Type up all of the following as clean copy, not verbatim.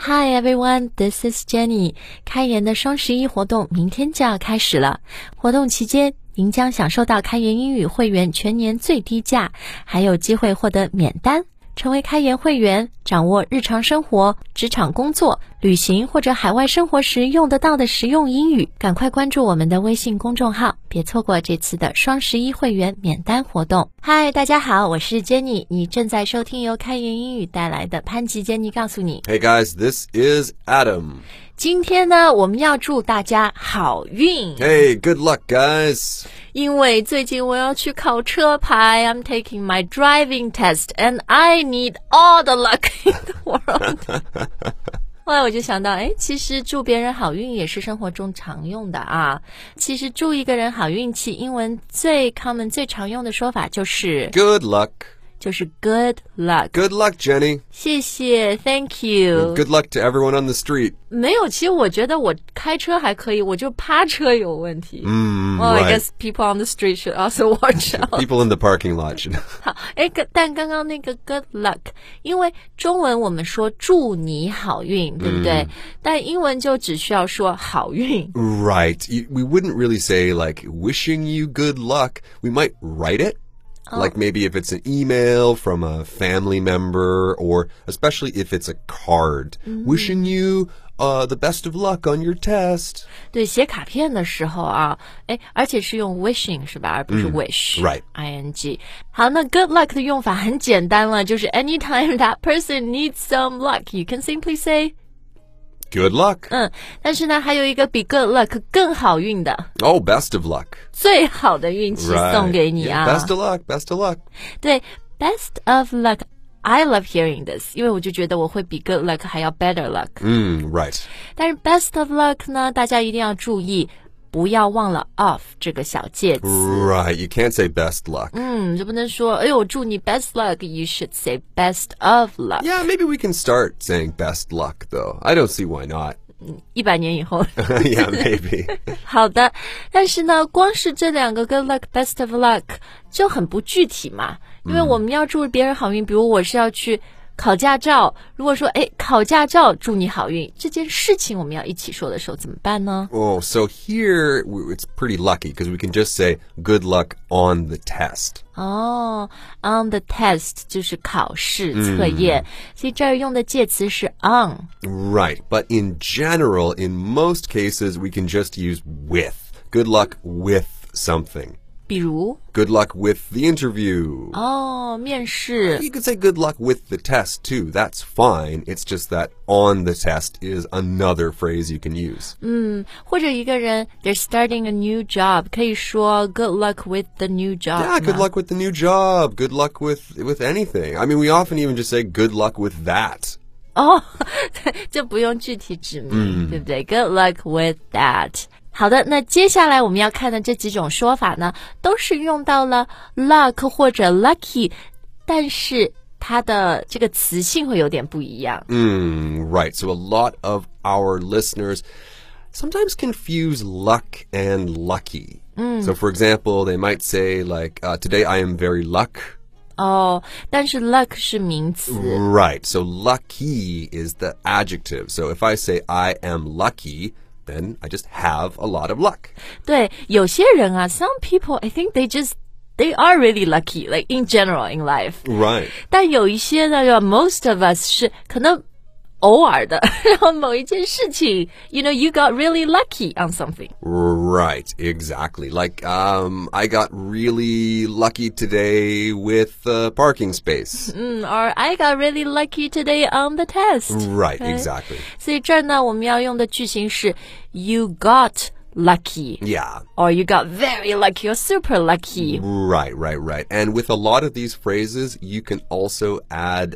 Hi everyone, this is Jenny. 开言的双11活动明天就要开始了。活动期间，您将享受到开言英语会员全年最低价，还有机会获得免单。成为开言会员，掌握日常生活、职场工作、旅行或者海外生活时用得到的实用英语。赶快关注我们的微信公众号，别错过这次的双11会员免单活动。嗨，大家好，我是 Jenny， 你正在收听由开言英语带来的潘吉 Jenny 告诉你。 Hey guys, this is Adam. 今天呢，我们要祝大家好运。 Hey, good luck, guys. 因为最近我要去考车牌 I'm taking my driving test and I need all the luck in the world 后来我就想到其实祝别人好运也是生活中常用的啊。其实祝一个人好运气，英文最 common 最常用的说法就是 Good luck. 就是 good luck. Good luck, Jenny. 谢谢 Thank you. Good luck to everyone on the street. 没有，其实我觉得我开车还可以，我就趴车有问题。Well, right. I guess people on the street should also watch out. People in the parking lot should. 好，但刚刚那个 good luck， 因为中文我们说祝你好运，对不对？但英文就只需要说好运。 Right. We wouldn't really say like wishing you good luck. We might write it.Like maybe if it's an email from a family member or especially if it's a card. Wishing you the best of luck on your test. 对，写卡片的时候啊，而且是用 wishing 是吧，而不是 wish. Right. ing. 好，那 good luck 的用法很简单了，就是 anytime that person needs some luck, you can simply say Good luck. 但是呢，还有一个比 good luck 更好运的。 Oh, best of luck. 最好的运气送给你啊。 Best of luck, best of luck. 对 best of luck, I love hearing this, 因为我就觉得我会比 good luck 还要 better luck. Right. 但是 best of luck 呢，大家一定要注意，不要忘了 of 这个小介词。 Right, you can't say best luck. 就不能说我祝你 best luck, you should say best of luck. Yeah, maybe we can start saying best luck, though. I don't see why not. 100年以后 Yeah, maybe. 好的，但是呢，光是这两个 good luck, best of luck 就很不具体嘛，因为我们要祝别人好运，比如我是要去考驾照，如果说考驾照祝你好运，这件事情我们要一起说的时候怎么办呢？ Oh, so here it's pretty lucky because we can just say good luck on the test. On the test 就是考试测验，所以这儿用的介词是 on. Right, but in general, in most cases, we can just use with. Good luck with something. 比如 Good luck with the interview. 面试 You could say good luck with the test, too. That's fine. It's just that on the test is another phrase you can use. 或者一个人 they're starting a new job 可以说 good luck with the new job. Yeah, good luck with the new job. Good luck with anything. I mean, we often even just say good luck with that. 就不用具体指明，对不对？ Good luck with that. 好的，那接下来我们要看的这几种说法呢，都是用到了 luck 或者 lucky， 但是它的这个词性会有点不一样。 Right. So a lot of our listeners sometimes confuse luck and lucky. So for example, they might say like, today I am very luck. 但是 luck 是名词。 Right. So lucky is the adjective. So if I say I am lucky, then I just have a lot of luck. 对，有些人啊 some people, I think they are really lucky, like in general in life. Right. 但有一些呢 most of us 是可能偶尔的，然后某一件事情 you got really lucky on something. Right, exactly. Like, I got really lucky today with a parking space. Or I got really lucky today on the test. Right, exactly. 所以这儿呢，我们要用的句型是 you got lucky. Yeah. Or you got very lucky or super lucky. Right. And with a lot of these phrases, you can also add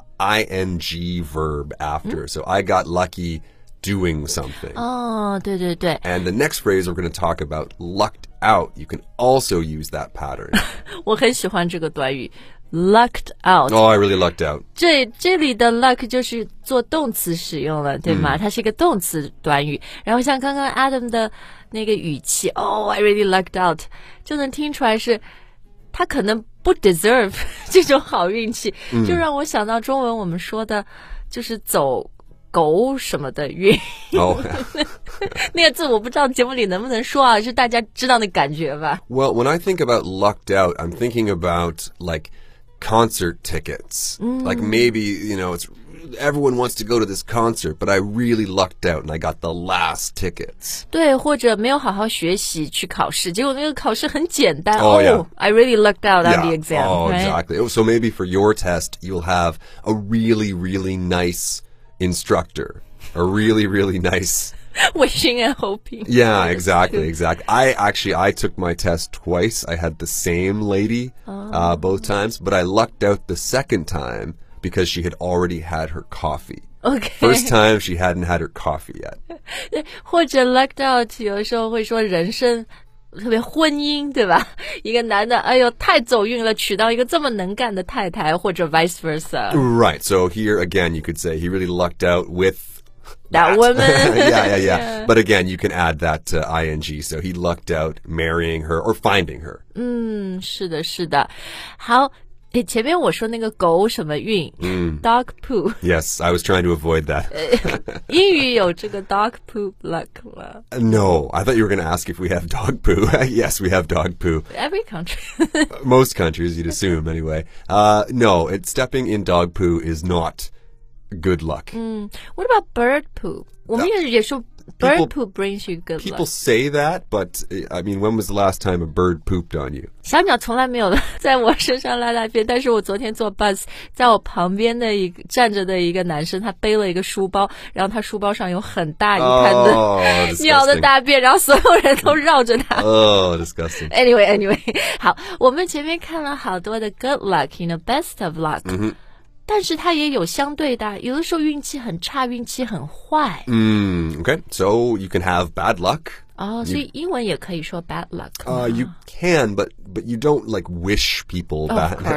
ing verb after. So I got lucky doing something. 对对对。 And the next phrase we're going to talk about, lucked out, you can also use that pattern. 我很喜欢这个短语 lucked out. Oh, I really lucked out. 这里的 luck 就是做动词使用了，对吗？它是一个动词短语。然后像刚刚 Adam 的那个语气 Oh, I really lucked out 就能听出来是他可能不 deserve 这种好运气，就让我想到中文我们说的就是走狗什么的运。 Oh. 那个字我不知道节目里能不能说啊，是大家知道那感觉吧。 Well, when I think about lucked out, I'm thinking about like concert tickets. Like maybe, everyone wants to go to this concert, but I really lucked out and I got the last tickets. 对，或者没有好好学习去考试，结果那个考试很简单。 Yeah. I really lucked out on the exam. Oh, right? exactly. So maybe for your test, you'll have a really, really nice instructor. A really, really nice... Wishing and hoping. Yeah, exactly. I took my test twice. I had the same lady both times, but I lucked out the second time because she had already had her coffee. Okay. First time, she hadn't had her coffee yet. 或者 lucked out 有时候会说人生特别婚姻，对吧？一个男的，哎呦，太走运了，娶到一个这么能干的太太，或者 vice versa. Right. So here again, you could say he really lucked out with that woman. yeah. But again, you can add that to ing. So he lucked out marrying her or finding her. 是的，是的。好，前面我说那个狗什么运，dog poo. Yes, I was trying to avoid that. 英语有这个 dog poop luck 吗？ No, I thought you were going to ask if we have dog poo. Yes, we have dog poo. Every country. Most countries, you'd assume, anyway. No, stepping in dog poo is not good luck. What about bird poop? 我们也说 bird poop brings you good luck. People say that, but I mean, when was the last time a bird pooped on you? 小鸟从来没有在我身上拉大便，但是我昨天坐 bus， 在我旁边的站着的一个男生，他背了一个书包，然后他书包上有很大一滩的鸟的大便，然后所有人都绕着他。 Oh, disgusting. Anyway, 好，我们前面看了好多的 good luck, best of luck。但是它也有相对的，有的时候运气很差，运气很坏。 Okay, so you can have bad luck. 所以英文也可以说 bad luck. You can, but you don't like wish people bad. Of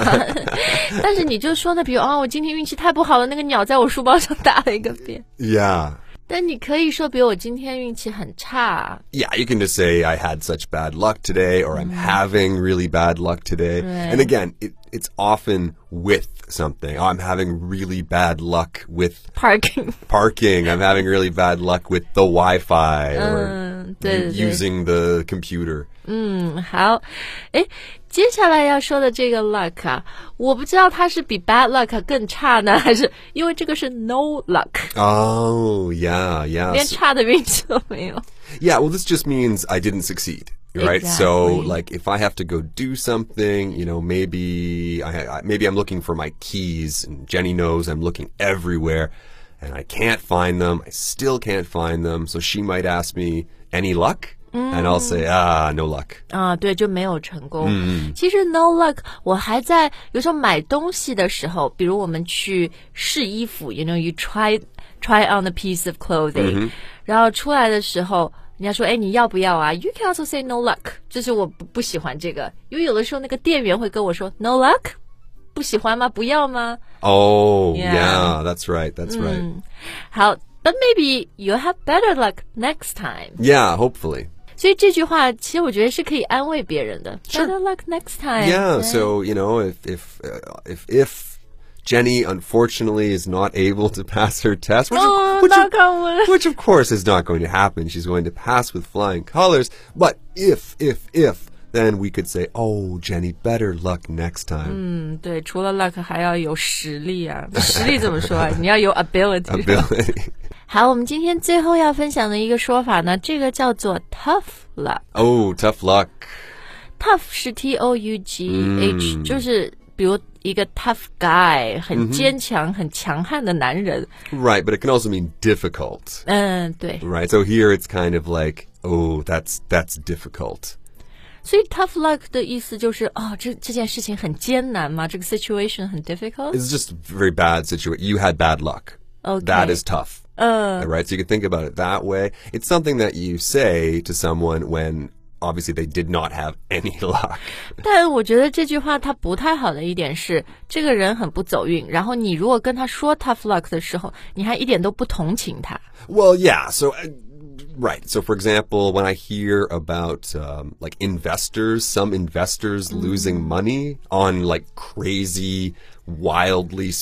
course. 但是你就说呢，比如我今天运气太不好了，那个鸟在我书包上大了一个便。 Yeah. 但你可以说，比如我今天运气很差。 Yeah, you can just say I had such bad luck today, or I'm having really bad luck today. Right. And again, it's often with something. Oh, I'm having really bad luck with parking. I'm having really bad luck with the Wi-Fi or 对 using the computer. 好，接下来要说的这个 luck 啊，我不知道它是比 bad luck 更差呢，还是因为这个是 no luck. Oh, yeah. 连差的运气都没有。 Yeah, well, this just means I didn't succeed, right? Exactly. So, like, if I have to go do something, maybe I'm looking for my keys, and Jenny knows I'm looking everywhere, and I can't find them. I still can't find them. So she might ask me, any luck? And I'll say, no luck. 对，就没有成功。其实 no luck， 我还在有时候买东西的时候，比如我们去试衣服 you try on a piece of clothing，然后出来的时候，人家说，你要不要啊 ？You can also say no luck， 就是我不喜欢这个，因为有的时候那个店员会跟我说 no luck， 不喜欢吗？不要吗？ Oh, yeah, that's right. 好 ，but maybe you'll have better luck next time. Yeah, hopefully. 所以这句话其实我觉得是可以安慰别人的。 Sure. Better luck next time. Yeah, so if Jenny unfortunately is not able to pass her test, which of course is not going to happen. She's going to pass with flying colors. But if, then we could say, oh, Jenny, better luck next time. 对，除了 luck 还要有实力啊。实力怎么说啊？你要有 ability。好，我们今天最后要分享的一个说法呢，这个叫做 tough luck。 Oh, tough luck. Tough 是 T-O-U-G-H，就是比如一个 tough guy， 很坚强、很强悍的男人。 Right, but it can also mean difficult. 对。 Right, so here it's kind of like, oh, that's difficult. 所以 tough luck 的意思就是这件事情很艰难吗？这个 situation 很 difficult? It's just a very bad situation. You had bad luck. Okay. That is tough. Right, so you can think about it that way. It's something that you say to someone when obviously they did not have any luck. 但我觉得这句话它不太好的一点是，这个人很不走运，然后你如果跟他说 tough luck 的时候，你还一点都不同情他。 Well, yeah, so... Right. So, for example, when I hear about like some investors losing money on like crazy, wildly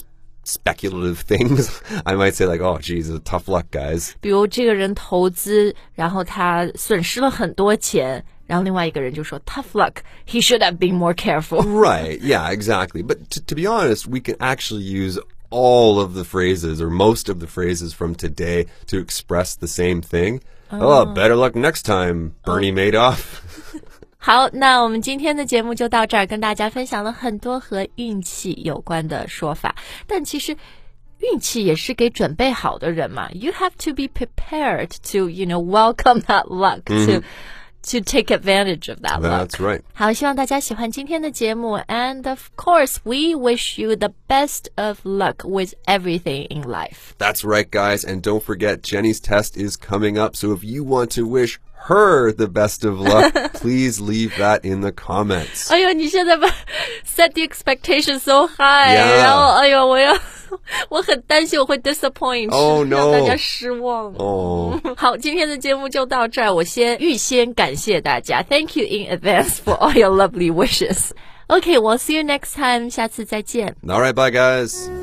speculative things, I might say like, oh, geez, tough luck, guys. 比如这个人投资，然后他损失了很多钱，然后另外一个人就说 tough luck, he should have been more careful. Right, yeah, exactly. But to be honest, we can actually use all of the phrases or most of the phrases from today to express the same thing. Oh, better luck next time, Bernie Madoff. 好，那我们今天的节目就到这儿，跟大家分享了很多和运气有关的说法。但其实运气也是给准备好的人嘛。You have to be prepared to, welcome that luck, to take advantage of that luck. That's right. 好，希望大家喜欢今天的节目。And of course, we wish you the best of luck with everything in life. That's right, guys. And don't forget, Jenny's test is coming up. So if you want to wish her the best of luck, please leave that in the comments. 哎呦，你现在把 set the expectation so high， Yeah. 然后哎呦，我很担心我会 disappoint， Oh no， 让大家失望。 哦， 好，今天的节目就到这儿，我预先感谢大家 ，Thank you in advance for all your lovely wishes. Okay, we'll see you next time. 下次再见。 All right, bye, guys.